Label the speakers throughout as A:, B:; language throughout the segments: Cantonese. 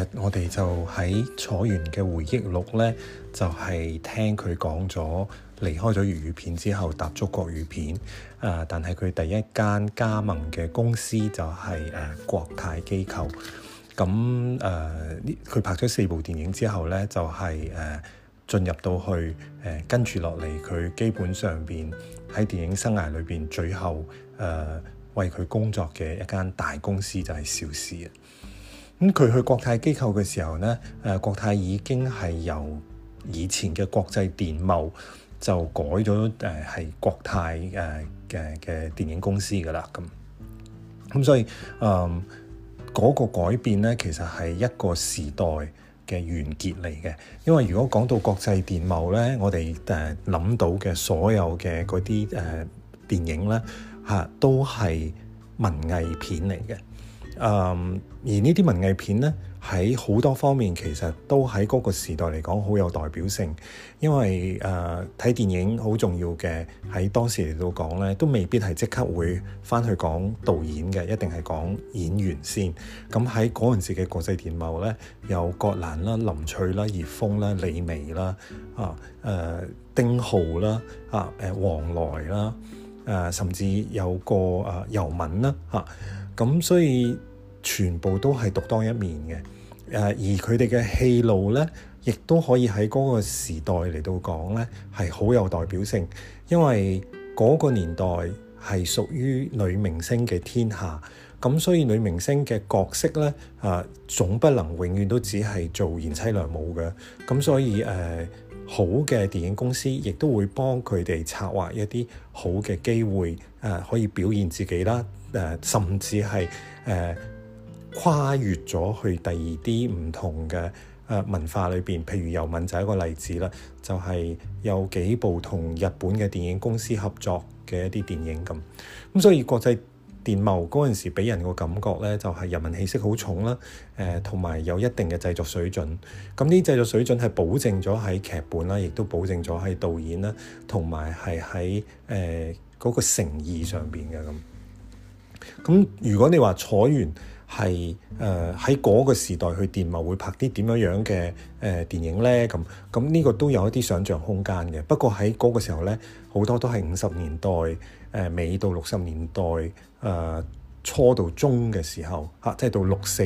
A: 日我哋就喺楚原嘅回憶錄呢，就係聽佢講咗離開咗粵語片之後踏足國語片。但係佢第一間加盟嘅公司就係國泰機構。咁佢拍咗4部電影之後呢，就係進入到去跟住落嚟，佢基本上邊喺電影生涯裏邊最後為佢工作嘅一間大公司就係邵氏。咁佢去國泰機構嘅時候呢，國泰已經係由以前嘅國際電懋就改咗係國泰嘅電影公司㗎喇。咁所以嗰個改變呢，其實係一個時代嘅完結嚟嘅。因為如果講到國際電懋呢，我哋諗到嘅所有嘅嗰啲電影呢，都係文藝片嚟嘅。而呢啲文藝片呢，喺好多方面其實都喺嗰個時代嚟講好有代表性。因為睇電影好重要嘅，喺當時嚟到講呢，都未必係即刻會返去講導演嘅，一定係講演員先。咁喺嗰陣時嘅國際電懋呢，有葛蘭啦、林翠啦、葉楓啦、李薇啦、丁浩啦、黃來啦、甚至有個尤敏啦咁所以全部都係獨當一面嘅。而佢哋嘅戲路呢，亦都可以喺嗰個時代嚟到講呢，係好有代表性。因為嗰個年代係屬於女明星嘅天下，咁所以女明星嘅角色呢，總不能永遠都只係做賢妻良母嘅。咁所以好嘅電影公司亦都會幫佢哋策劃一啲好嘅機會，可以表現自己啦，甚至係跨越咗去第二啲唔同嘅文化裏邊。譬如尤敏就係一個例子啦，就係有幾部同日本嘅電影公司合作嘅一啲電影咁。所以國際電懋嗰陣時俾人個感覺咧，就係人民氣息好重啦，同埋有一定嘅製作水準。咁呢製作水準係保證咗喺劇本啦，亦都保證咗喺導演啦，同埋係喺嗰個誠意上邊嘅咁。咁如果你話楚原係喺嗰個時代去電懋會拍啲點樣嘅電影咧？咁呢個都有一啲想像空間嘅。不過喺嗰個時候咧，好多都係50年代尾到60年代初到中嘅時候即係到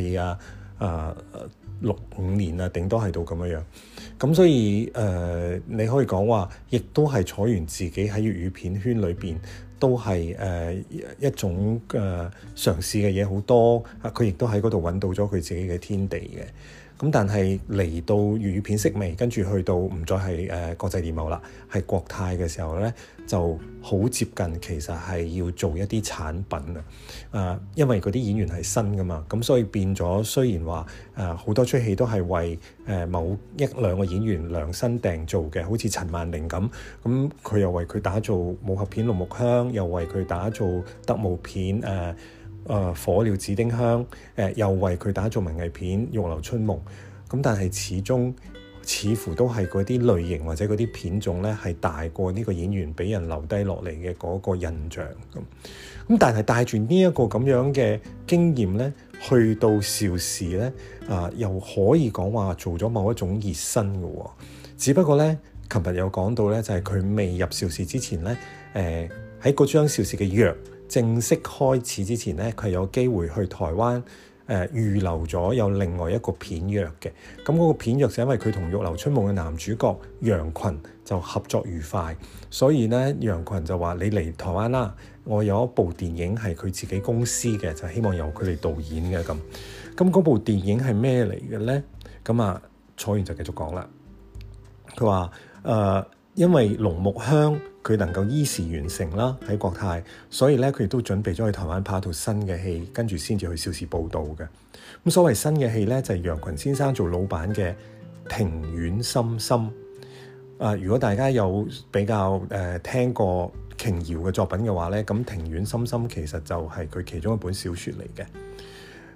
A: 6465年頂多係到咁樣。咁所以你可以講話，亦都係楚原自己喺粵語片圈裏邊都係一種嘗試嘅嘢好多。佢亦都喺嗰度揾到咗佢自己嘅天地嘅。咁但係嚟到粵語片式微，跟住去到唔再係國際電懋啦，係國泰嘅時候咧，就好接近其實係要做一啲產品因為嗰啲演員係新噶嘛，咁所以變咗雖然話好多出戲都係為某1、2個演員量身訂做嘅，好似陳萬寧咁佢又為佢打造武俠片《龍木香》，又為佢打造特務片火鳥紫丁香，又為佢打造文藝片《玉樓春夢》。咁但係始終似乎都係嗰啲類型或者嗰啲片種咧，係大過呢個演員俾人留低落嚟嘅嗰個印象咁但係帶住呢一個咁樣嘅經驗咧，去到邵氏咧又可以講話做咗某一種熱身嘅喎。只不過咧，琴日有講到咧，就係佢未入邵氏之前咧，喺嗰張邵氏嘅約正式開始之前咧，佢有機會去台灣預留咗有另外一個片約嘅。咁嗰個片約就因為佢同《玉樓春夢》嘅男主角楊群就合作愉快，所以咧楊群就話：你嚟台灣啦，我有一部電影係佢自己公司嘅，就希望由佢哋導演嘅咁。咁嗰部電影係咩嚟嘅咧？咁楚原就繼續講啦。佢話因為《龍木香》佢能夠依時完成啦喺國泰，所以咧佢亦都準備咗去台灣拍一套新嘅戲，跟住先至去邵氏報道嘅。咁所謂新嘅戲咧，就係楊群先生做老闆嘅《庭院深深》。如果大家有比較聽過瓊瑤嘅作品嘅話咧，咁《庭院深深》其實就係佢其中一本小説嚟嘅。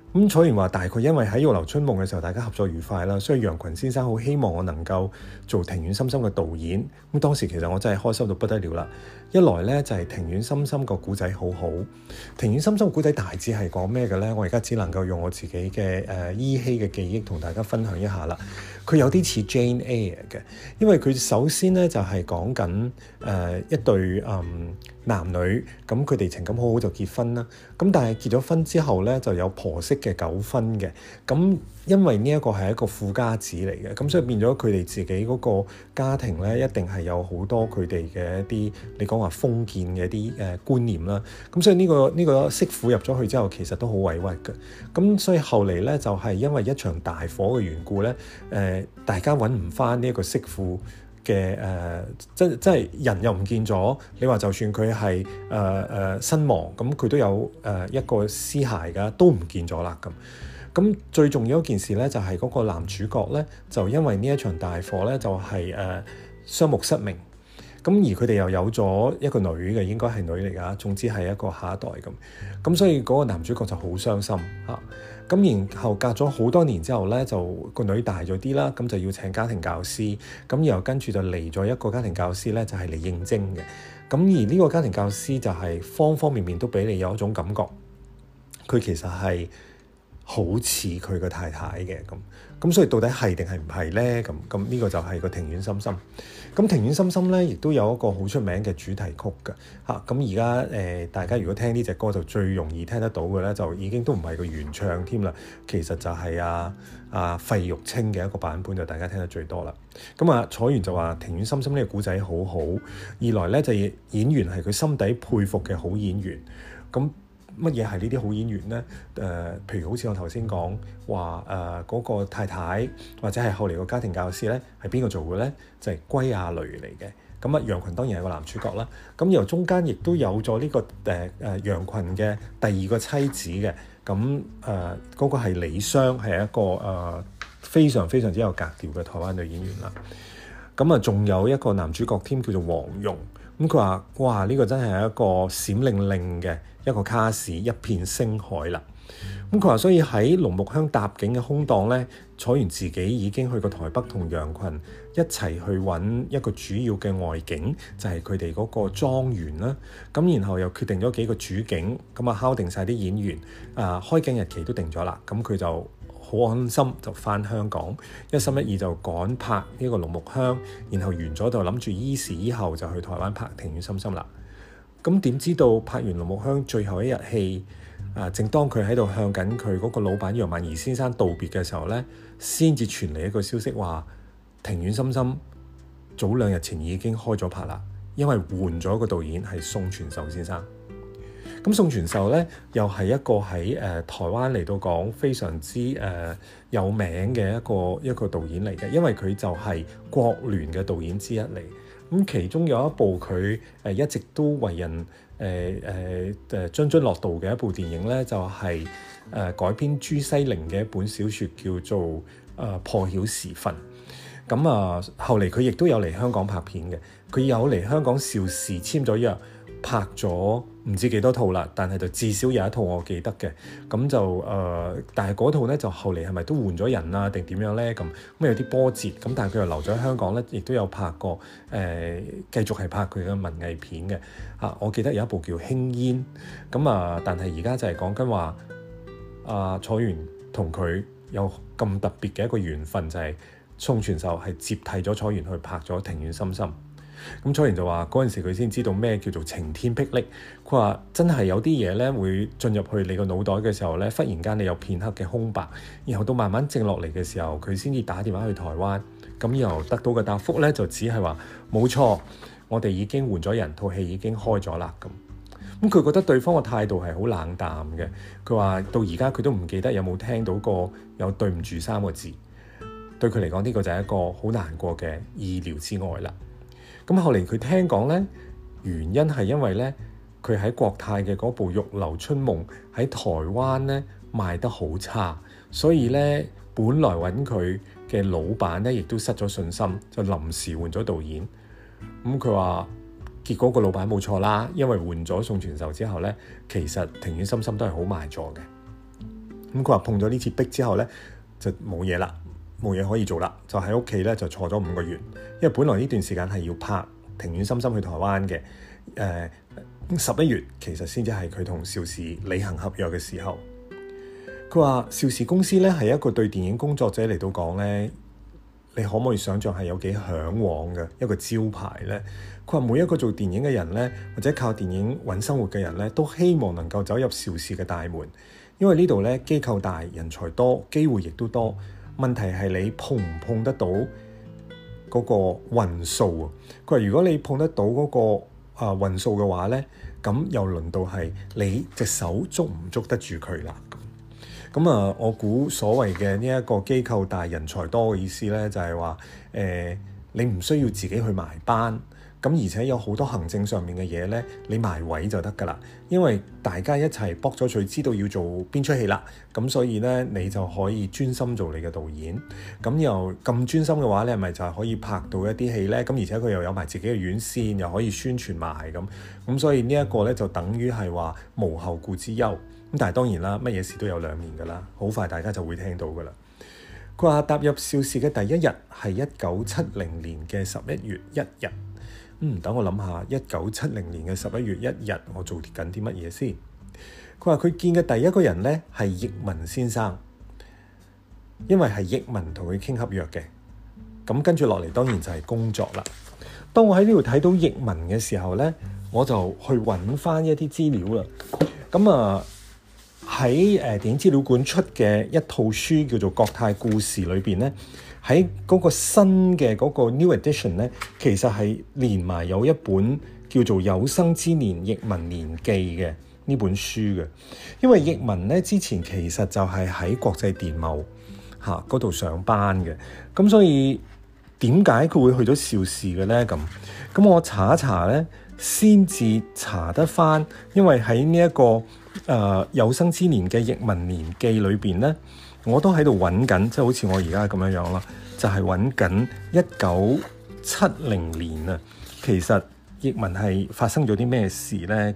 A: 咁楚原話大概因為喺《玉樓春夢》嘅時候大家合作愉快啦，所以楊群先生好希望我能夠做庭院深深嘅導演。咁當時其實我真係開心到不得了啦。一來咧就係庭院深深個古仔好好，庭院深深古仔大致係講咩嘅咧？我而家只能夠用我自己嘅依稀嘅記憶同大家分享一下啦。佢有啲似 Jane Eyre 嘅，因為佢首先咧就係講緊一對男女，咁佢哋情感好好就結婚啦。咁但係結咗婚之後咧就有婆媳嘅糾紛嘅。咁因為呢一個係一個富家子嚟嘅，咁所以變咗佢哋自己嗰個家庭咧，一定係有好多佢哋嘅一啲你講話封建嘅一啲觀念啦。咁所以呢個媳婦入咗去之後，其實都好委屈嘅。咁所以後嚟咧就係因為一場大火嘅緣故咧，大家揾唔翻呢一個媳婦嘅即係人又唔見咗。你話就算佢係身亡，咁佢都有一個屍骸㗎，都唔見咗啦咁。咁最重要一件事咧，就係嗰個男主角咧，就因為呢一場大火咧，就係雙目失明。咁而佢哋又有咗一個女嘅，應該係女嚟㗎。總之係一個下一代咁。咁所以嗰個男主角就好傷心嚇。咁然後隔咗好多年之後咧，就個女大咗啲啦，咁就要請家庭教師。咁然後跟住就嚟咗一個家庭教師咧，就係嚟應徵嘅。咁而呢個家庭教師就係方方面面都俾你有一種感覺，佢其實係好似佢個太太嘅咁，所以到底係定係唔係咧？咁呢個就係個庭院深深。咁庭院深深咧，亦都有一個好出名嘅主題曲㗎嚇。咁而家大家如果聽呢隻歌就最容易聽得到嘅咧，就已經都唔係個原唱添啦。其實就係費玉清嘅一個版本，就大家聽得最多啦。咁楚原就話庭院深深呢個故仔好好，二來咧就演員係佢心底佩服嘅好演員。咁乜嘢係呢啲好演員咧？譬如好似我頭先講話嗰個太太，或者係後嚟個家庭教師咧，係邊個做嘅咧？就係歸亞蕾嚟嘅。咁楊群當然係個男主角啦。咁由中間亦都有咗呢個楊群嘅第二個妻子嘅。咁嗰個係李湘，係一個非常非常之有格調嘅台灣女演員啦。咁仲有一個男主角添，叫做黃蓉。咁佢話：哇！呢個真係一個閃靈靈嘅一個卡士，一片星海啦。咁佢話，所以喺龍木鄉搭景嘅空檔咧，楚原自己已經去過台北同楊群一齊去揾一個主要嘅外景，就係佢哋嗰個莊園啦。咁然後又決定咗幾個主景，咁敲定晒啲演員，開景日期都定咗啦。咁佢就好安心就返香港，一心一意就趕拍呢個龍木鄉，然後完咗就諗住依時依後就去台灣拍庭院深深啦。咁點知道拍完龍木鄉最後一日戲，正當佢喺度向緊佢嗰個老闆楊萬兒先生道別嘅時候咧，先至傳嚟一個消息話庭院深深早2日前已經開咗拍啦，因為換咗個導演係宋傳壽先生。咁宋傳壽咧又係一個喺台灣嚟到講非常之有名嘅一個導演嚟嘅，因為佢就係國聯嘅導演之一嚟。咁其中有一部佢一直都為人津津樂道嘅一部電影咧，就係改編朱西甯嘅一本小説，叫做破曉時分。咁後嚟佢亦都有嚟香港拍片嘅，佢有嚟香港邵氏簽咗約，拍咗唔知幾多套啦，但係就至少有一套我記得嘅。咁就但係嗰套咧就後嚟係咪都換咗人啊定點樣咧？咁有啲波折，咁但係佢又留咗喺香港咧，亦都有拍過繼續係拍佢嘅文藝片嘅。我記得有一部叫《輕煙》，咁但係而家就係講緊話楚原同佢有咁特別嘅一個緣分，就係宋傳壽係接替咗楚原去拍咗《庭院深深》。咁楚原就話嗰陣時佢先知道咩叫做晴天霹靂。佢話真係有啲嘢咧會進入去你個腦袋嘅時候咧，忽然間你有片刻嘅空白，然後到慢慢靜落嚟嘅時候，佢先至打電話去台灣。咁然後得到嘅答覆咧就只係話冇錯，我哋已經換咗人，套戲已經開咗啦。咁佢覺得對方嘅態度係好冷淡嘅。佢話到而家佢都唔記得有冇聽到過有對唔住3個字。對佢嚟講呢個就係一個好難過嘅意料之外啦。咁後嚟佢聽講咧，原因係因為咧，佢喺國泰嘅嗰部《玉樓春夢》喺台灣咧賣得好差，所以咧本來揾佢嘅老闆咧亦都失咗信心，就臨時換咗導演。咁佢話結果個老闆冇錯啦，因為換咗宋傳壽之後咧，其實庭院深深都係好賣座嘅。 咁佢話碰咗呢次壁之後咧，就冇嘢啦，冇嘢可以做啦，就喺屋企咧就坐咗5個月。因為本來呢段時間係要拍《庭院深深》去台灣嘅，11月其實先至係佢同邵氏履行合約嘅時候。佢話邵氏公司咧係一個對電影工作者嚟到講咧，你可唔可以想像係有幾嚮往嘅一個招牌咧？佢話每一個做電影嘅人咧，或者靠電影揾生活嘅人咧，都希望能夠走入邵氏嘅大門，因為呢度咧機構大、人才多、機會亦都多。問題係你碰唔碰得到嗰個運數啊？佢話如果你碰得到嗰個運數嘅話咧，咁又輪到係你隻手捉唔捉得住佢啦。咁我估所謂嘅呢一個機構大人才多嘅意思咧，就係話你唔需要自己去埋班，咁而且有好多行政上面嘅嘢咧，你埋位就得㗎啦。因為大家一齊搏咗佢知道要做邊出戲啦，咁所以咧你就可以專心做你嘅導演。咁又咁專心嘅話咧，咪就係可以拍到一啲戲咧。咁而且佢又有埋自己嘅院線，又可以宣傳埋咁所以呢一個咧就等於係話無後顧之憂。咁但係當然啦，乜嘢事都有兩面㗎啦，好快大家就會聽到㗎啦。佢話踏入邵氏嘅第一日係1970年嘅11月1日。等我諗下，1970年嘅11月1日，我做緊啲乜嘢先？佢話佢見嘅第一個人咧係譯文先生，因為係譯文同佢傾合約嘅。咁跟住落嚟當然就係工作啦。當我喺呢度睇到譯文嘅時候咧，我就去揾翻一啲資料啦。咁喺電影資料館出嘅一套書叫做《國泰故事》裏邊咧，喺嗰個新嘅嗰個 New Edition 咧，其實係連埋有一本叫做《有生之年譯文年記》嘅呢本書嘅。因為譯文咧之前其實就係喺國際電懋嗰度上班嘅，咁所以點解佢會去咗邵氏嘅咧？咁我查一查咧，先至查得翻，因為喺呢一個有生之年嘅譯文年記裏邊咧，我都喺度揾緊，即係好似我而家咁樣啦，就係揾緊1970年啊。其實譯文係發生咗啲咩事咧？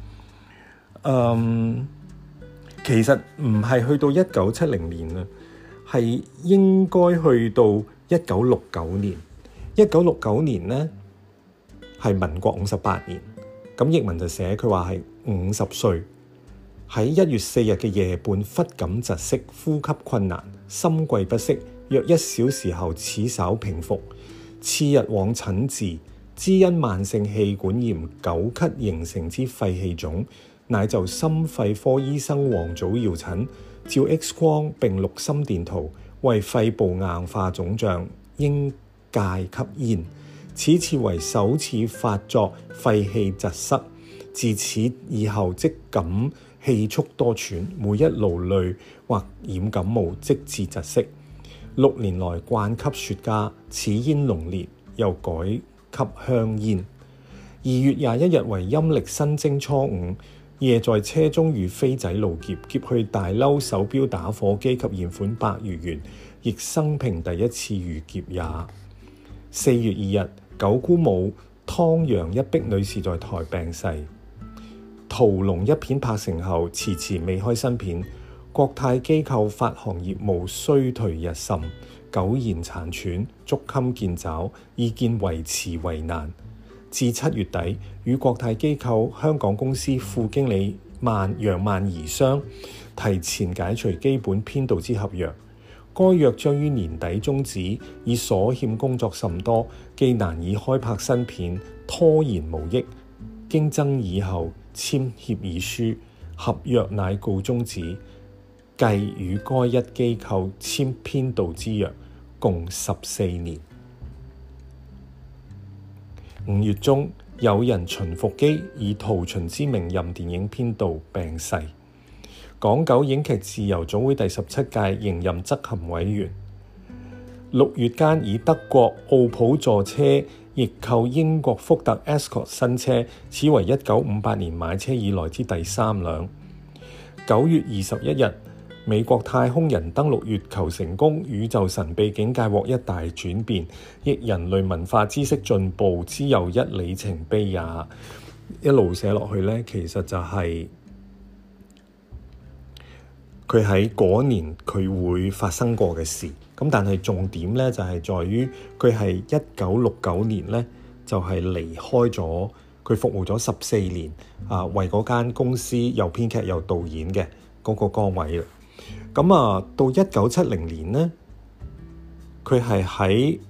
A: 其實唔係去到1970年啊，係應該去到1969年。1969年咧係民國58年，咁譯文就寫佢話係50歲。喺1月4日嘅夜半，忽感窒息，呼吸困難，心悸不適，約1小時後始稍平復。次日往診治，知因慢性氣管炎久咳形成之肺氣腫，乃就心肺科醫生黃祖堯診，照 X 光並錄心電圖，為肺部硬化腫脹，應戒吸煙。此次為首次發作肺氣窒塞，自此以後即感氣促多喘，每一勞累或染感冒即致窒息。6年來慣吸雪茄，此煙濃烈，又改吸香煙。2月21日為陰曆新正初5，夜在車中遇飛仔路劫，劫去大褸手錶打火機及現款100餘元，亦生平第一次遇劫也。4月2日，九姑母湯陽一碧女士在台病逝。屠龍一片拍成後，遲遲未開新片。國泰機構發行業務衰退日甚，苟延殘喘，捉襟見肘，意見維持為難。至7月底，與國泰機構香港公司副經理楊萬儀商提前解除基本編導之合約。該約將於年底終止，以所欠工作甚多，既難以開拍新片，拖延無益。經爭議後簽協議書，合約乃告終止，繼與該一機構簽編導之約，共14年。5月中，有人秦復基以陶秦之名任電影編導，病逝。港九影劇自由總會第17屆仍任執行委員。6月間以德國奧普座車易購英國福特 Escort 新車，此為1958年買車以來之第3輛。9月21日，美國太空人登陸月球成功，宇宙神秘境界獲一大轉變，亦人類文化知識進步之又一里程碑也。一路寫落去呢，其實就係佢喺嗰年佢會發生過嘅事。咁但係重點咧就係在於佢係1969年咧就係離開咗，佢服務咗14年為嗰間公司又編劇又導演嘅嗰個崗位啦。咁到1970年咧，佢係喺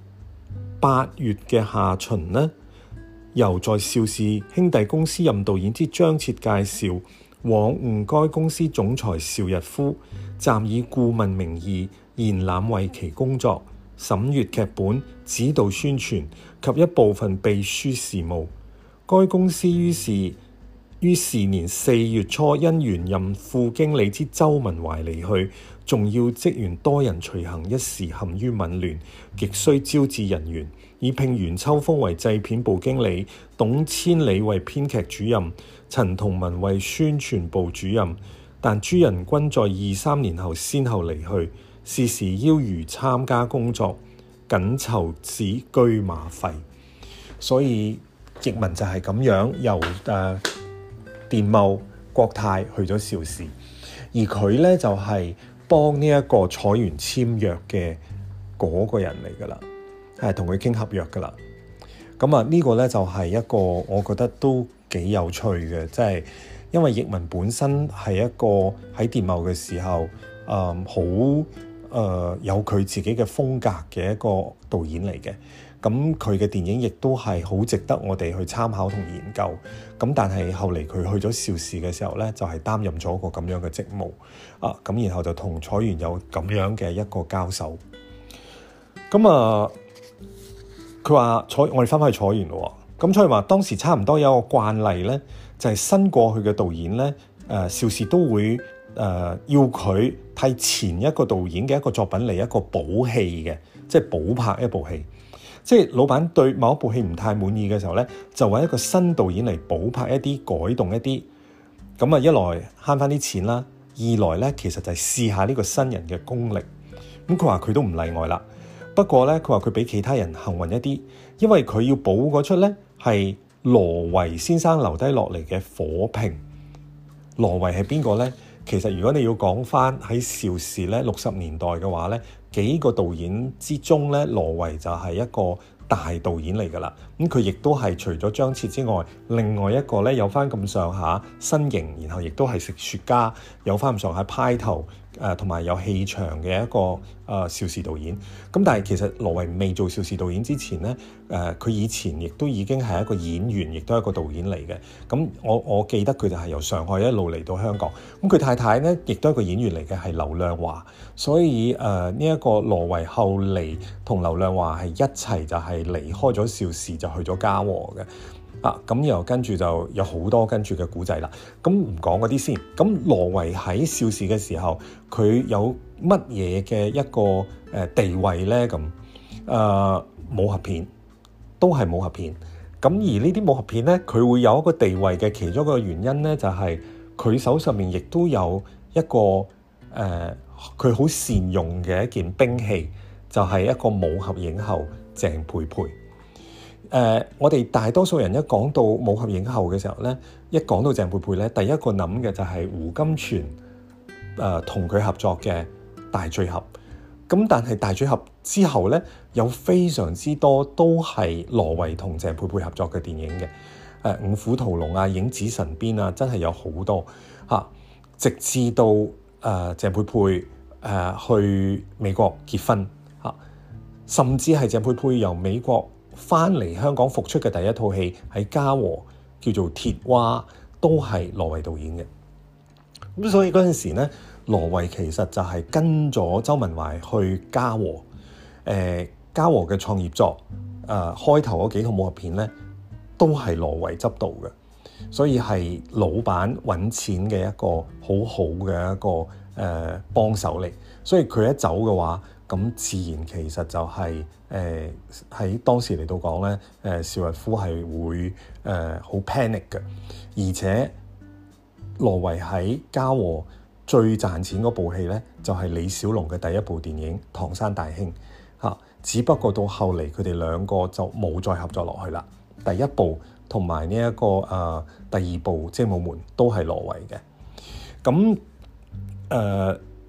A: 8月嘅下旬咧，由在邵氏兄弟公司任導演之張徹介紹往晤該公司總裁邵逸夫，暫以顧問名義延攬為其工作，審閱劇本、指導宣傳及一部分秘書事務。該公司於是年4月初因原任副經理之周文懷離去，重要職員多人隨行，一時陷於紊亂，極需招致人員，以聘袁秋風為製片部經理，董千里為編劇主任，陳同文為宣傳部主任。但諸人均在2-3年後先後離去，是時邀餘參加工作，僅籌此車馬費。所以譯文就係咁樣，由電懋國泰去咗邵氏，而佢咧就係幫呢一個楚原簽約嘅嗰個人嚟噶啦，係同佢傾合約噶啦。咁呢個咧就係一個我覺得都幾有趣嘅，即係因為譯文本身係一個喺電懋嘅時候好有佢自己嘅風格嘅一個導演嚟嘅。咁佢嘅電影亦都係好值得我哋去參考同研究。咁但係後嚟佢去咗邵氏嘅時候咧，就係擔任咗個咁樣嘅職務咁然後就同楚原有咁樣嘅一個交手。咁佢話我哋翻返去楚原咯。咁楚原話當時差唔多有一個慣例咧，就係新過去嘅導演咧，邵氏都會要佢替前一個導演嘅一個作品嚟一個補戲嘅，即係補拍一部戲。即係老闆對某一部戲唔太滿意嘅時候咧，就揾一個新導演嚟補拍一啲、改動一啲。咁一來慳翻啲錢啦，二來咧其實就係試下呢個新人嘅功力。咁佢話佢都唔例外啦。不過咧，佢話佢比其他人幸運一啲，因為佢要補嗰出咧係羅維先生留低落嚟嘅火拼。羅維係邊個咧？其實如果你要講翻喺邵氏咧60年代嘅話咧，幾個導演之中咧，羅維就係一個大導演嚟㗎啦。咁佢亦都係除咗張徹之外，另外一個咧有翻咁上下身形，然後亦都係食雪茄，有翻咁上下派頭同埋有氣場嘅一個邵氏導演。咁但係其實羅維未做邵氏導演之前咧，佢以前亦都已經係一個演員，亦都係一個導演嚟嘅。咁我記得佢就係由上海一路嚟到香港。咁佢太太咧亦都係一個演員嚟嘅，係劉亮華。所以呢一個羅維後嚟同劉亮華係一齊就係離開咗邵氏，就去咗嘉禾嘅。咁然後跟住就有好多跟住嘅古仔啦。咁唔講嗰啲先。咁羅維喺邵氏嘅時候，佢有乜嘢嘅一個地位咧？咁武俠片都係武俠片。咁而呢啲武俠片咧，佢會有一個地位嘅其中一個原因咧，就係佢手上面亦都有一個佢好善用嘅一件兵器，就係一個武俠影后鄭佩佩。我哋大多數人一講到武俠影后嘅時候咧，一講到鄭佩佩咧，第一個諗嘅就係胡金銓同佢合作嘅大醉俠。咁但係大醉俠之後咧，有非常之多都係羅維同鄭佩佩合作嘅電影嘅。五虎屠龍啊、影子神鞭啊，真係有好多直至到鄭佩佩去美國結婚甚至係鄭佩佩由美國翻嚟香港復出嘅第一套戲喺嘉禾叫做《鐵蛙》，都係羅維導演嘅。咁所以嗰陣時咧，羅維其實就係跟咗周文懷去嘉禾。嘉禾嘅創業作開頭嗰幾套武俠片咧，都係羅維執導嘅。所以係老闆揾錢嘅一個好好嘅一個幫手嚟。所以佢一走嘅話，咁自然其實就係喺當時嚟到講咧，邵逸夫係會好 panic 嘅。而且羅維喺嘉禾最賺錢嗰部戲咧，就係李小龍嘅第一部電影《唐山大兄》只不過到後嚟佢哋兩個就冇再合作落去啦。第一部同埋呢一個第二部《精武門》都係羅維嘅。咁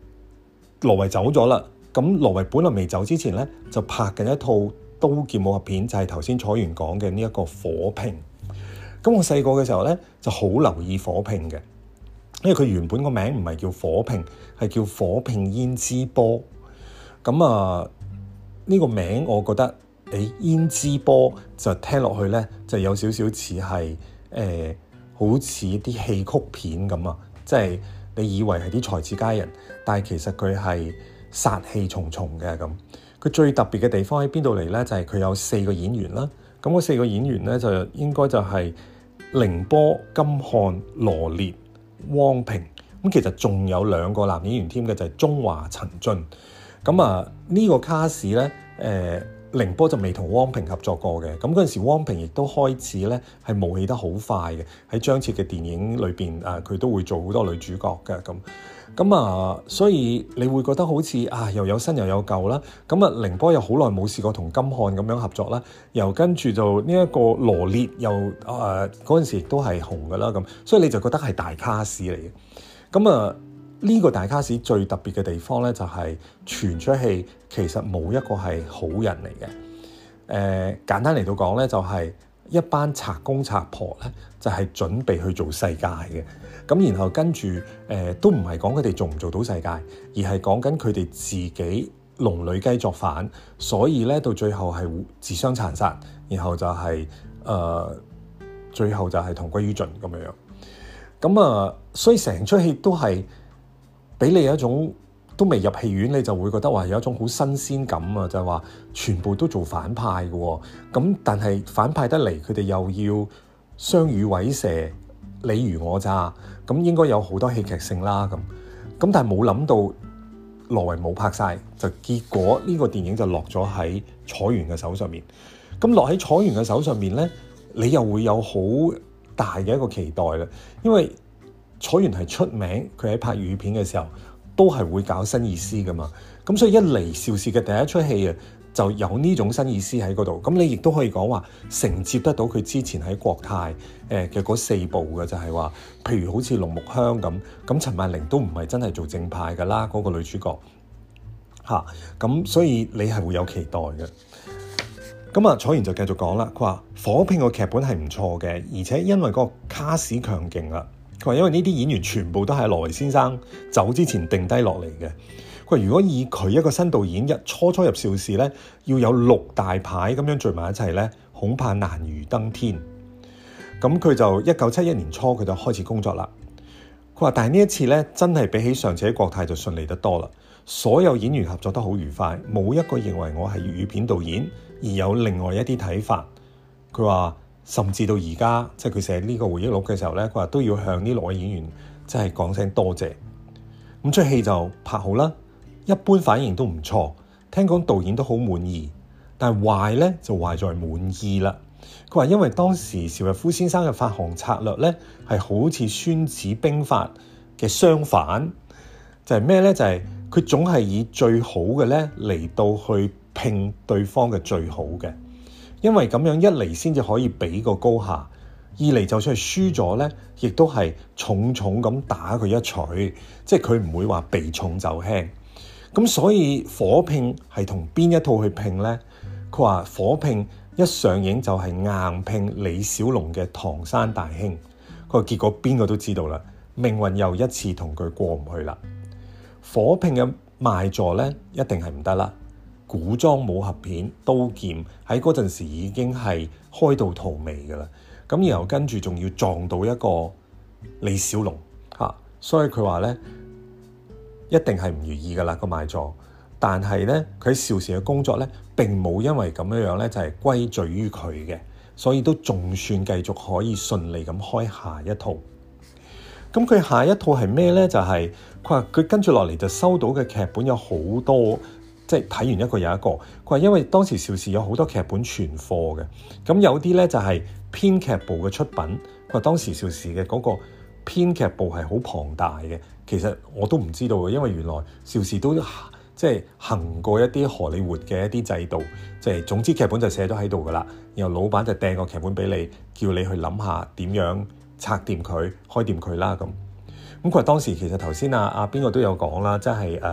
A: 羅維走咗啦。咁羅維本來未走之前咧，就拍緊一套刀劍武俠片，就係頭先楚原講嘅呢一個火拼。咁我細個嘅時候咧，就好留意火拼嘅，因為佢原本個名唔係叫火拼，係叫火拼胭脂波。咁呢個名我覺得胭脂波就聽落去咧，就有少少似係好似啲戲曲片咁啊！即係你以為係啲才子佳人，但係其實佢係殺氣重重嘅咁。佢最特別嘅地方喺邊度嚟咧？就係佢有4個演員啦。咁嗰4個演員咧，就應該就係凌波、金漢、羅烈、汪萍。咁其實仲有2個男演員添嘅，就係鍾華、陳進。咁呢個卡士咧，凌波就未同汪萍合作過嘅。咁嗰陣時，汪萍亦都開始咧係冒起得好快嘅。喺張徹嘅電影裏邊，佢都會做好多女主角嘅咁。所以你會覺得好似又有新又有舊啦。咁凌波又好耐冇試過同金漢咁樣合作啦。又跟住就呢一個羅烈又嗰陣時亦都係紅㗎啦咁。所以你就覺得係大卡士嚟嘅。咁呢個大卡士最特別嘅地方咧，就係全出戲其實冇一個係好人嚟嘅。簡單嚟到講咧，就係一班賊公賊婆咧，就係準備去做世界嘅。咁然後跟住都唔係講佢哋做唔做到世界，而係講緊佢哋自己龍女雞作反，所以咧到最後係自相殘殺，然後就係最後就係同歸於盡咁樣。咁所以成出戲都係俾你有一種都未入戲院，你就會覺得話有一種好新鮮感啊！就係話全部都做反派嘅喎，咁但係反派得嚟，佢哋又要相與委蛇，你虞我詐，咁應該有好多戲劇性啦咁。但係冇諗到羅維冇拍晒，就結果呢個電影就落咗喺楚原嘅手上面。咁落喺楚原嘅手上面咧，你又會有好大嘅一個期待啦，因為楚原係出名，佢喺拍粵語片嘅時候都係會搞新意思噶嘛。咁所以一嚟邵氏嘅第一出戲就有呢種新意思喺嗰度。咁你亦都可以講話承接得到佢之前喺國泰嘅嗰4部嘅，就係話譬如好似龍木香咁陳曼玲都唔係真係做正派噶啦，嗰個女主角咁所以你係會有期待嘅。咁楚原就繼續講啦，佢話火拼個劇本係唔錯嘅，而且因為個卡士強勁啦。佢話因為呢啲演員全部都係羅維先生走之前定低落嚟嘅。佢話如果以佢一個新導演初入邵氏咧，要有6大牌咁樣聚埋一齊咧，恐怕難如登天。咁佢就1971年初佢就開始工作啦。佢話但係呢一次咧，真係比起上次喺國泰就順利得多啦。所有演員合作得好愉快，冇一個認為我係粵語片導演而有另外一啲睇法。佢話甚至到而家，即係佢寫呢個回憶錄嘅時候咧，佢話都要向呢6位演員即係講聲多謝。咁出戲就拍好啦，一般反應都唔錯，聽講導演都好滿意。但係壞咧就壞在滿意啦。佢話因為當時邵逸夫先生嘅發行策略咧係好似孫子兵法嘅相反，就係咩咧？就係佢總係以最好嘅咧嚟到去拼對方嘅最好嘅。因為咁樣一嚟先至可以比個高下，二嚟就算係輸咗咧，亦都係重重咁打佢一錘，即係佢唔會話避重就輕。咁所以火拼係同邊一套去拼咧？佢話火拼一上映就係硬拼李小龍嘅《唐山大兄》。佢話結果邊個都知道啦，命運又一次同佢過唔去啦。火拼嘅賣座咧一定係唔得啦。古裝武俠片刀劍喺嗰陣時已經係開到荼蘼㗎啦，咁然後跟住仲要撞到一個李小龍所以佢話咧一定係唔如意㗎啦個賣座。但係咧佢喺邵氏嘅工作咧並冇因為咁樣咧就係歸罪於佢嘅，所以都仲算繼續可以順利咁開下一套。咁佢下一套係咩咧？就係佢話佢跟住落嚟就收到嘅劇本有好多。即係睇完一個又一個，佢話因為當時邵氏有好多劇本存貨嘅，咁有啲咧就係編劇部嘅出品。佢話當時邵氏嘅嗰個編劇部係好龐大嘅，其實我都唔知道嘅，因為原來邵氏都即係行過一啲荷里活嘅一啲制度，即係總之劇本就寫咗喺度噶啦，然後老闆就掟個劇本俾你，叫你去諗下點樣拆掂佢、開掂佢啦咁。佢話當時其實頭先阿邊個都有講啦，即係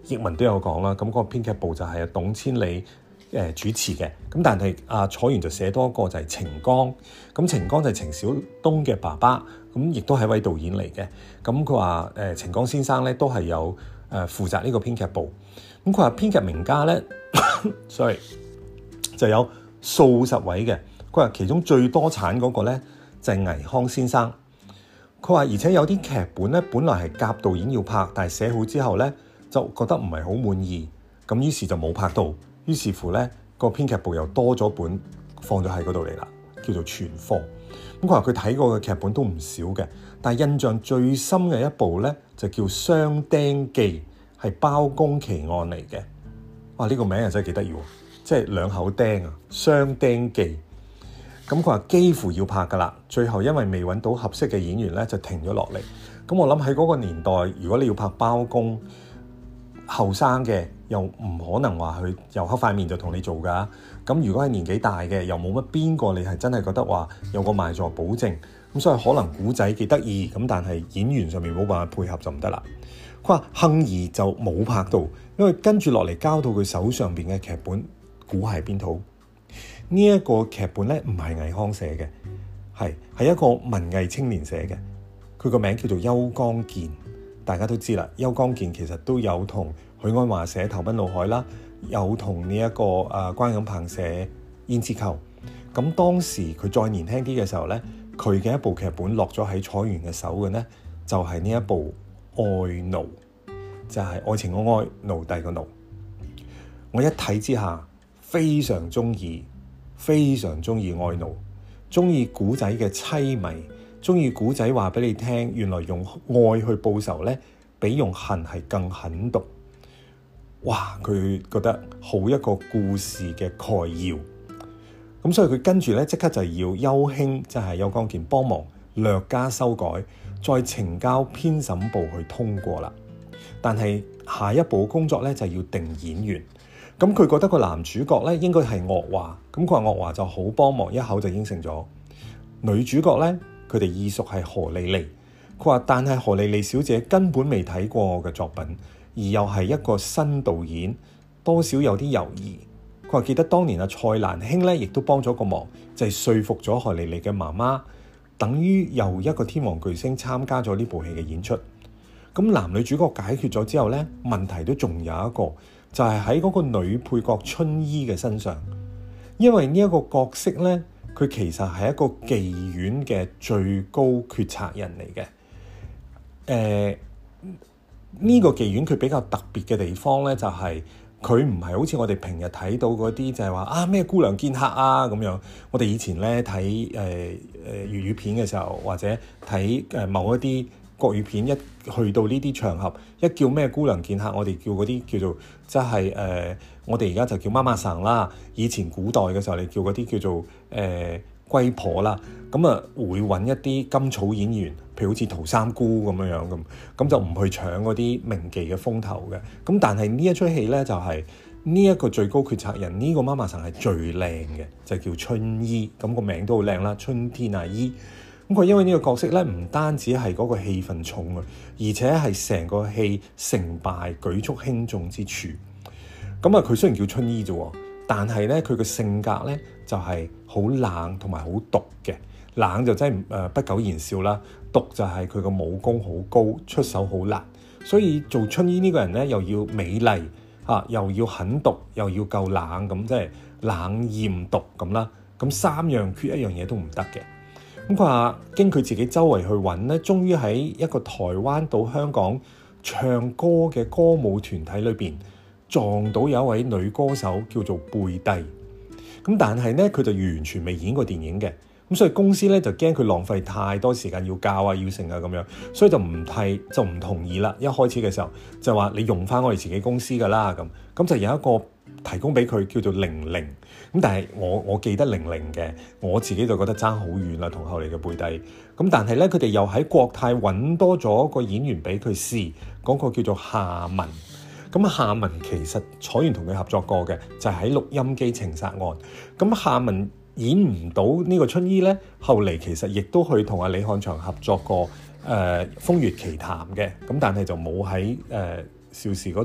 A: 譯文都有講啦。咁嗰個編劇部就係董千里主持嘅。咁但係楚原就寫多一個就係程剛。咁程剛就係程小東嘅爸爸，咁亦都係一位導演嚟嘅。咁佢話程剛先生咧都係有負責呢個編劇部。咁佢話編劇名家咧，sorry 就有數十位嘅。佢話其中最多產嗰個咧就係倪匡先生。佢話而且有啲劇本咧本來係夾導演要拍，但係寫好之後咧就覺得唔係好滿意，咁於是就冇拍到。於是乎咧個編劇部又多咗本放咗喺嗰度嚟啦，叫做存貨。咁佢話佢睇過嘅劇本都唔少嘅，但係印象最深嘅一部咧就叫《雙釘記》，係包公奇案嚟嘅。哇！呢個名又真係幾得意喎，即係兩口釘啊，《雙釘記》。咁佢話幾乎要拍噶啦，最後因為未揾到合適嘅演員咧，就停咗落嚟。咁我諗喺嗰個年代，如果你要拍包公，後生嘅又唔可能話佢又黑塊面就同你做噶。咁如果係年紀大嘅，又冇乜邊個你係真係覺得話有個賣座保證。咁所以可能古仔幾得意，咁但係演員上面冇辦法配合就唔得啦。佢話幸而就冇拍到，因為跟住落嚟交到佢手上邊嘅劇本，估係邊套？呢一個劇本咧唔係倪匡寫嘅，係一個文藝青年寫嘅。佢個名叫做邱剛健，大家都知啦。邱剛健其實都有同許鞍華寫《投奔怒海》啦，有同呢一個關錦鵬寫《胭脂扣》。咁當時佢再年輕啲嘅時候咧，佢嘅一部劇本落咗喺楚原嘅手嘅咧，就係呢一部《愛奴》，就係愛情嘅愛，奴隸嘅奴。我一睇之下非常中意。非常中意愛奴，中意古仔嘅淒迷，中意古仔話俾你聽，原來用愛去報仇咧，比用恨係更狠毒。哇！佢覺得好一個故事嘅概要，咁所以佢跟住咧即刻就要邱兄，即係邱剛健幫忙略加修改，再呈交編審部去通過啦。但係下一步工作咧就要定演員。咁佢覺得個男主角咧應該係岳華，咁佢話岳華就好幫忙，一口就應承咗。女主角咧，佢哋意屬係何莉莉。佢話但係何莉莉小姐根本未睇過我嘅作品，而又係一個新導演，多少有啲猶豫。佢話記得當年蔡瀾兄咧，亦都幫咗個忙，就係說服咗何莉莉嘅媽媽，等於又一個天王巨星參加咗呢部戲嘅演出。咁男女主角解決咗之後咧，問題都仲有一個。就係喺嗰個女配角春衣嘅身上，因為呢一個角色咧，佢其實係一個妓院嘅最高決策人嚟嘅。呢個妓院佢比較特別嘅地方咧，就係佢唔係好似我哋平日睇到嗰啲，就係話咩姑娘見客啊咁樣。我哋以前咧睇粵語片嘅時候，或者睇某一啲國語片，一去到呢啲場合，一叫咩姑娘見客，我哋叫嗰啲叫做即係我哋而家就叫媽媽桑啦。以前古代嘅時候，你叫嗰啲叫做龜婆啦。咁啊會揾一啲甘草演員，譬如好似陶三姑咁樣咁就唔去搶嗰啲名妓嘅風頭嘅。咁但係呢一出戲咧，就係呢一個最高決策人，呢個媽媽桑係最靚嘅，就叫春衣。咁個名都好靚啦，春天阿姨。咁佢因為呢個角色咧，唔單止係嗰個戲份重啊，而且係成個戲成敗舉足輕重之處。咁啊，佢雖然叫春衣啫，但係咧佢嘅性格咧就係好冷同埋好毒嘅。冷就真係不苟言笑啦，毒就係佢個武功好高，出手好辣。所以做春衣呢個人咧，又要美麗又要狠毒，又要夠冷，咁即係冷豔毒咁啦。咁三樣缺一樣嘢都唔得嘅。咁佢話經佢自己周圍去揾咧，終於喺一個台灣到香港唱歌嘅歌舞團體裏邊撞到有一位女歌手叫做貝蒂。咁但係咧佢就完全未演過電影嘅，咁所以公司咧就驚佢浪費太多時間要教啊要成啊咁樣，所以就唔同意啦。一開始嘅時候就話你用翻我哋自己公司噶啦，咁就有一個提供俾佢叫做玲玲。咁但係我記得玲玲嘅，我自己就覺得爭好遠啦，同後嚟嘅貝蒂。咁但係咧佢哋又喺國泰揾多咗個演員俾佢試，嗰個叫做夏文。咁夏文其實楚原同佢合作過嘅，就係喺錄音機情殺案。咁夏文演唔到呢個春衣咧，後嚟其實亦都去同阿李漢祥合作過風月奇談嘅。咁但係就冇喺邵氏嗰度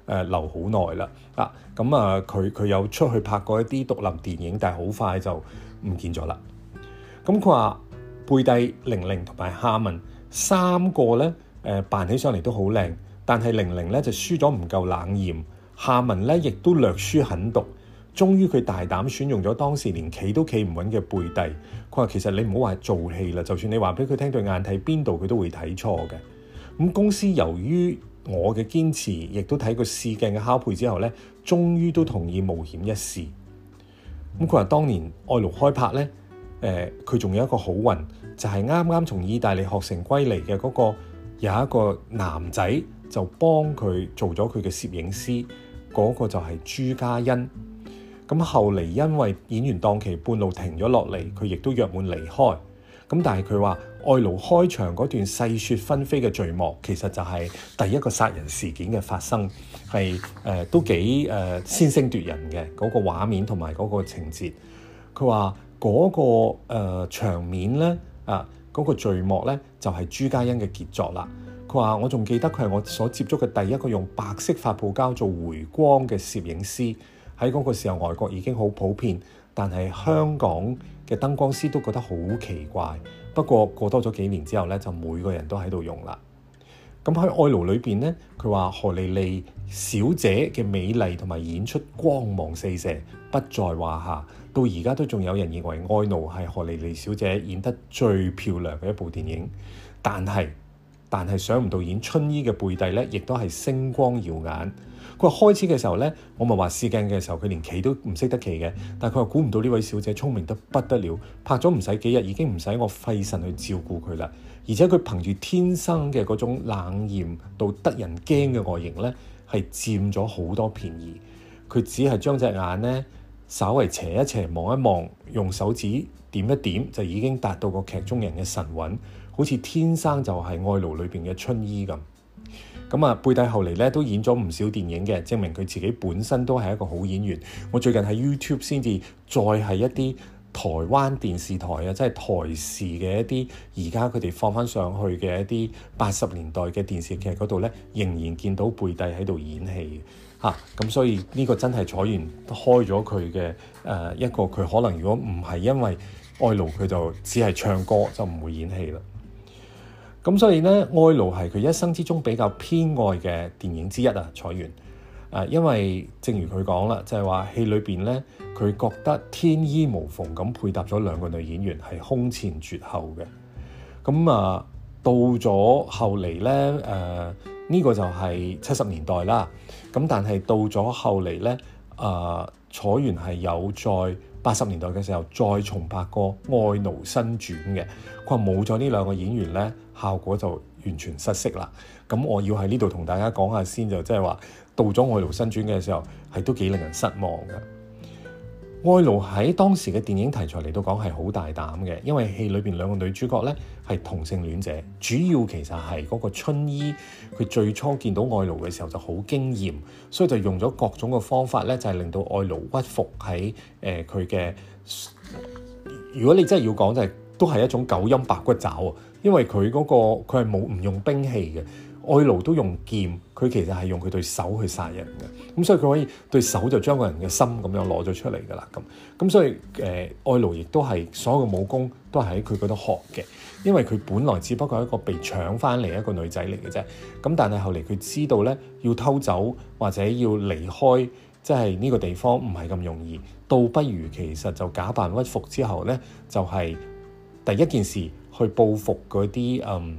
A: 留好耐啦。佢有出去拍過一啲獨立電影，但係好快就唔見咗啦。咁佢話貝蒂、玲玲同埋夏文三個咧扮起上嚟都好靚，但係玲玲咧就輸咗唔夠冷豔，夏文咧亦都略輸狠毒。終於佢大膽選用咗當時連企都企唔穩嘅貝蒂。佢話其實你唔好話做戲啦，就算你話俾佢聽對眼睇邊度，佢都會睇錯嘅。咁公司由於我嘅堅持，亦都睇過試鏡嘅拷貝之後咧，終於都同意冒險一試。咁佢話當年愛奴開拍咧，佢仲有一個好運，就係啱啱從意大利學成歸嚟嘅嗰個有一個男仔就幫佢做咗佢嘅攝影師，嗰個就係朱家欣。咁後嚟因為演員檔期半路停咗落嚟，佢亦都約滿離開。咁但係佢話愛奴開場嗰段細雪紛飛嘅序幕，其實就係第一個殺人事件嘅發生，係都幾先聲奪人嘅嗰個畫面同埋嗰個情節。佢話嗰個場面咧嗰個序幕咧就係朱家欣嘅傑作啦。佢話我仲記得佢係我所接觸嘅第一個用白色發泡膠做回光嘅攝影師。喺嗰個時候，外國已經好普遍，但係香港嘅燈光師都覺得好奇怪。不過過多咗幾年之後咧，就每個人都喺度用啦。咁喺愛奴裏邊咧，佢話何莉莉小姐嘅美麗同埋演出光芒四射，不在話下。到而家都仲有人認為愛奴係何莉莉小姐演得最漂亮嘅一部電影。但係想唔到演春衣嘅貝蒂咧，亦都係星光耀眼。佢話開始嘅時候咧，我咪話試鏡嘅時候佢連企都唔識得企嘅，但係佢話估唔到呢位小姐聰明得不得了，拍咗唔使幾日已經唔使我費神去照顧佢啦，而且佢憑住天生嘅嗰種冷豔到得人驚嘅外形咧，係佔咗好多便宜。佢只係將隻眼咧稍微斜一斜望一望，用手指點一點就已經達到個劇中人嘅神韻，好似天生就係愛奴裏邊嘅春衣咁。貝蒂後嚟咧都演咗唔少電影嘅，證明佢自己本身都係一個好演員。我最近喺 YouTube 先至再係一啲台灣電視台即係台視嘅一啲而家佢哋放翻上去嘅一啲80年代嘅電視劇嗰度咧，仍然見到貝蒂喺度演戲咁所以呢個真係楚原開咗佢嘅一個，佢可能如果唔係因為愛奴，佢就只係唱歌就唔會演戲啦。咁所以咧，愛奴係佢一生之中比較偏愛嘅電影之一楚原因為正如佢講啦，就係話戲裏邊咧，佢覺得天衣無縫咁配搭咗兩個女演員係空前絕後嘅。到咗後嚟咧，呢個就係70年代啦。咁但係到咗後嚟咧，楚原係有在80年代嘅時候再重拍過《愛奴新傳》嘅。佢話冇咗呢兩個演員咧，效果就完全失色啦。咁我要喺呢度同大家講下先，就即係話到咗《愛奴新傳》嘅時候，係都幾令人失望嘅。愛奴喺當時嘅電影題材嚟到講係好大膽嘅，因為戲裏邊兩個女主角咧係同性戀者，主要其實係嗰個春衣，佢最初見到愛奴嘅時候就好驚豔，所以就用咗各種嘅方法咧，就係令到愛奴屈服喺佢嘅。如果你真係要講，就係都係一種九陰白骨爪啊，因為佢嗰個佢係唔用兵器嘅。愛奴都用劍，佢其實係用佢對手去殺人嘅，咁所以佢可以對手就將個人嘅心咁樣攞咗出嚟㗎啦，咁所以愛奴亦都係所有嘅武功都係喺佢嗰度學嘅，因為佢本來只不過係一個被搶翻嚟一個女仔嚟嘅啫，咁但係後嚟佢知道咧要偷走或者要離開，即係呢個地方唔係咁容易，倒不如其實就假扮屈服之後咧，就係第一件事去報復嗰啲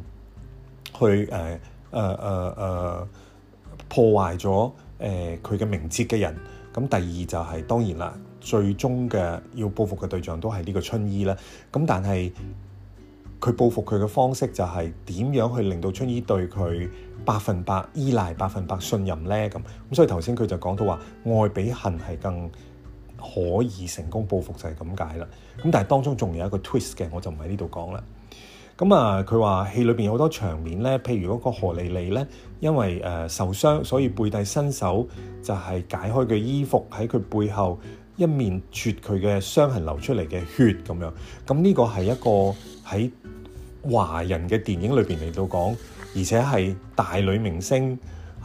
A: 破壞咗佢嘅名節嘅人。咁第二就係當然啦，最終嘅要報復嘅對象都係呢個春衣啦。咁但係佢報復佢嘅方式就係點樣去令到春衣對佢100%依賴、100%信任咧？咁所以頭先佢就講到話愛比恨係更可以成功報復，就係咁解啦。咁但係當中仲有一個 twist 嘅，我就唔喺呢度講啦。佢話戲裏邊有好多場面咧，譬如嗰個何莉莉咧，因為受傷，所以貝蒂伸手就係解開佢衣服，喺佢背後一面啜佢嘅傷痕流出嚟嘅血咁樣。咁呢個係一個喺華人嘅電影裏邊嚟到講，而且係大女明星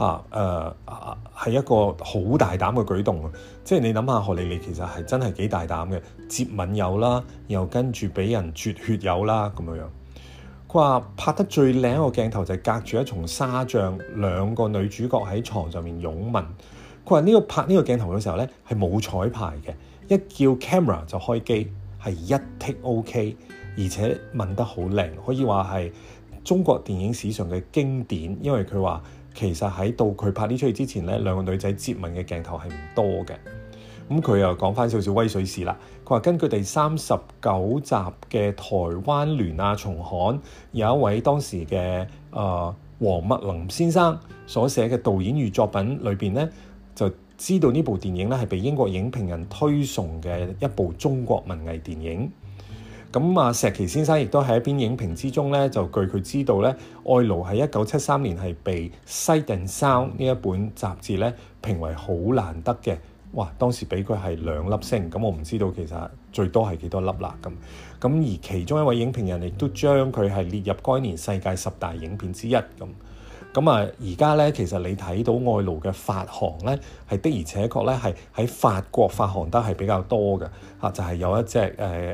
A: 係一個好大膽嘅舉動。即係你諗下，荷里活其實係真係幾大膽嘅，接吻有啦，又跟住俾人啜血有啦咁樣。佢話拍得最靚一個鏡頭就係隔住一重紗帳，兩個女主角喺床上面擁吻。佢話拍呢個鏡頭嘅時候咧係冇彩排嘅，一叫 camera 就開機，係一 take OK， 而且吻得好靚，可以話係中國電影史上嘅經典。因為佢話其實喺到佢拍呢出戲之前咧，兩個女仔接吻嘅鏡頭係唔多嘅。咁佢又講翻少少威水史啦。佢話根據第39集嘅台灣聯亞重刊，有一位當時嘅黃麥林先生所寫嘅導演與作品裏邊咧，就知道呢部電影咧係被英國影評人推崇嘅一部中國文藝電影。咁石琪先生亦都喺一篇影評之中咧，就據佢知道咧，《愛奴》喺1973年係被《Sight and Sound》呢一本雜誌咧評為好難得嘅。哇！當時俾佢係2粒星，咁我唔知道其實最多係幾多粒啦咁。而其中一位影評人亦都將佢係列入該年世界10大影片之一咁。而家咧其實你睇到愛奴嘅發行咧，係的而且確咧係喺法國發行得係比較多嘅就係有一隻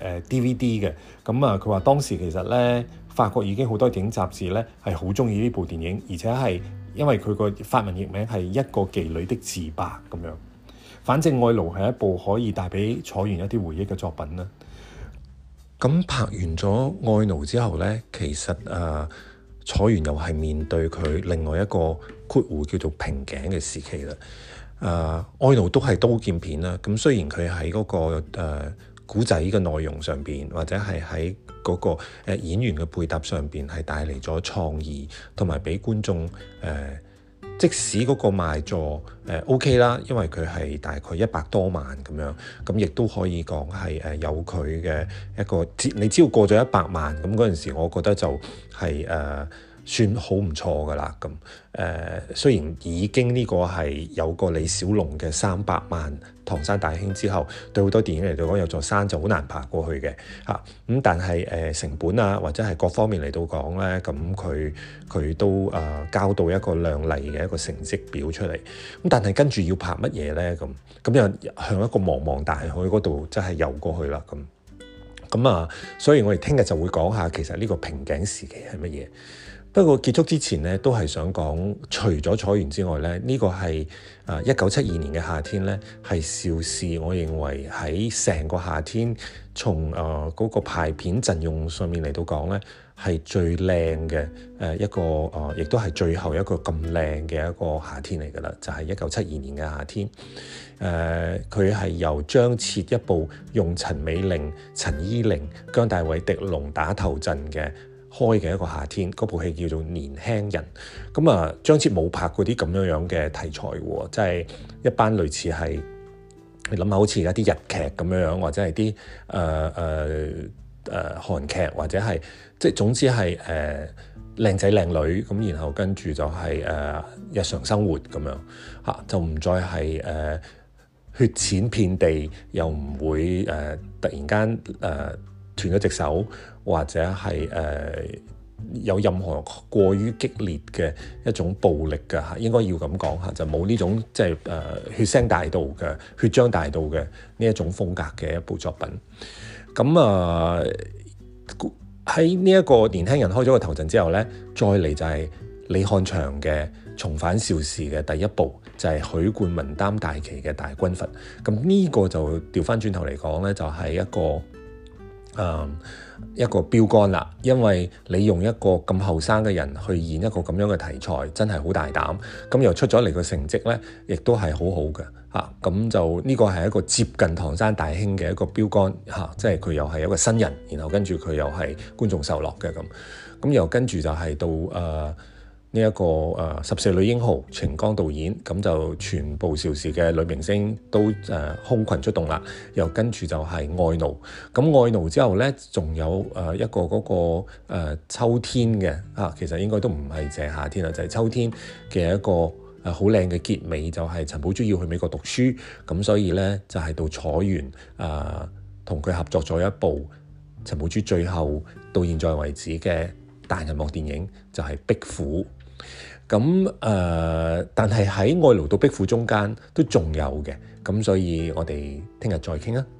A: DVD 嘅。佢話當時其實咧法國已經好多電影雜誌咧係好中意呢部電影，而且係因為佢個法文譯名係一個妓女的自白咁樣。反正愛奴係一部可以帶俾楚原一啲回憶嘅作品啦。咁拍完咗愛奴之後咧，其實楚原又係面對佢另外一個括弧叫做瓶頸嘅時期啦。愛奴都係刀劍片啦。咁雖然佢喺嗰個古仔嘅內容上邊，或者係喺嗰個演員嘅配搭上邊，係帶嚟咗創意，同埋俾觀眾即使嗰個賣座OK 啦，因為佢係大概100多萬咁樣，咁亦都可以講係有佢嘅一個，你只要過咗100萬，咁嗰陣時我覺得就係算好唔錯噶啦。咁雖然已經呢個係有個李小龍嘅300萬唐山大兄之後，對好多電影嚟到講有座山就好難爬過去嘅咁但係成本啊或者係各方面嚟到講咧，咁佢都交到一個亮麗嘅一個成績表出嚟。咁但係跟住要拍乜嘢咧？咁又向一個茫茫大海嗰度真係游過去啦。所以我哋聽日就會講下其實呢個瓶頸時期係乜嘢。不過結束之前咧，都係想講，除咗楚原之外咧，呢個係1972年嘅夏天咧，係邵氏我認為喺成個夏天從嗰個排片陣容上面嚟到講咧，係最靚嘅一個亦都係最後一個咁靚嘅一個夏天嚟㗎啦，就係1972年嘅夏天。佢係由張徹一部用陳美玲、陳伊玲、姜大衛、狄龍打頭陣嘅開嘅一個夏天，嗰部戲叫做《年輕人》。張徹冇拍過啲咁樣嘅題材喎，即係一班類似係你諗下，好似而家啲日劇咁樣，或者係啲韓劇，或者係即係總之係靚仔靚女咁，然後跟住就係日常生活咁樣就唔再係血濺遍地，又唔會突然間斷咗隻手，或者係有任何過於激烈嘅一種暴力嘅應該要咁講就冇呢種即係血腥大道嘅血漿大道嘅呢一種風格嘅一部作品。喺呢一個年輕人開咗個頭陣之後咧，再嚟就係李翰祥嘅重返邵氏嘅第一部，就係許冠文擔大旗嘅大軍閥。咁呢個就調翻轉頭嚟講咧，就係一個標杆啦，因為你用一個咁後生嘅人去演一個咁樣嘅題材，真係好大膽。咁又出咗嚟個成績咧，亦都係好好嘅咁就呢個係一個接近唐山大兄嘅一個標杆即係佢又係一個新人，然後跟住佢又係觀眾受落嘅咁又跟住就係到呢一個14女英豪程剛導演，咁就全部邵氏嘅女明星都空群出動啦。又跟住就係愛奴，咁愛奴之後咧，仲有一個嗰個秋天嘅其實應該都唔係淨係夏天啦，就係秋天嘅一個好靚嘅結尾，就係陳寶珠要去美國讀書，咁所以咧就係到楚原同佢合作咗一部陳寶珠最後到現在為止嘅大銀幕電影，就係《壁虎》。 咁但係喺愛奴到壁虎中間都仲有嘅，咁所以我哋聽日再傾啊。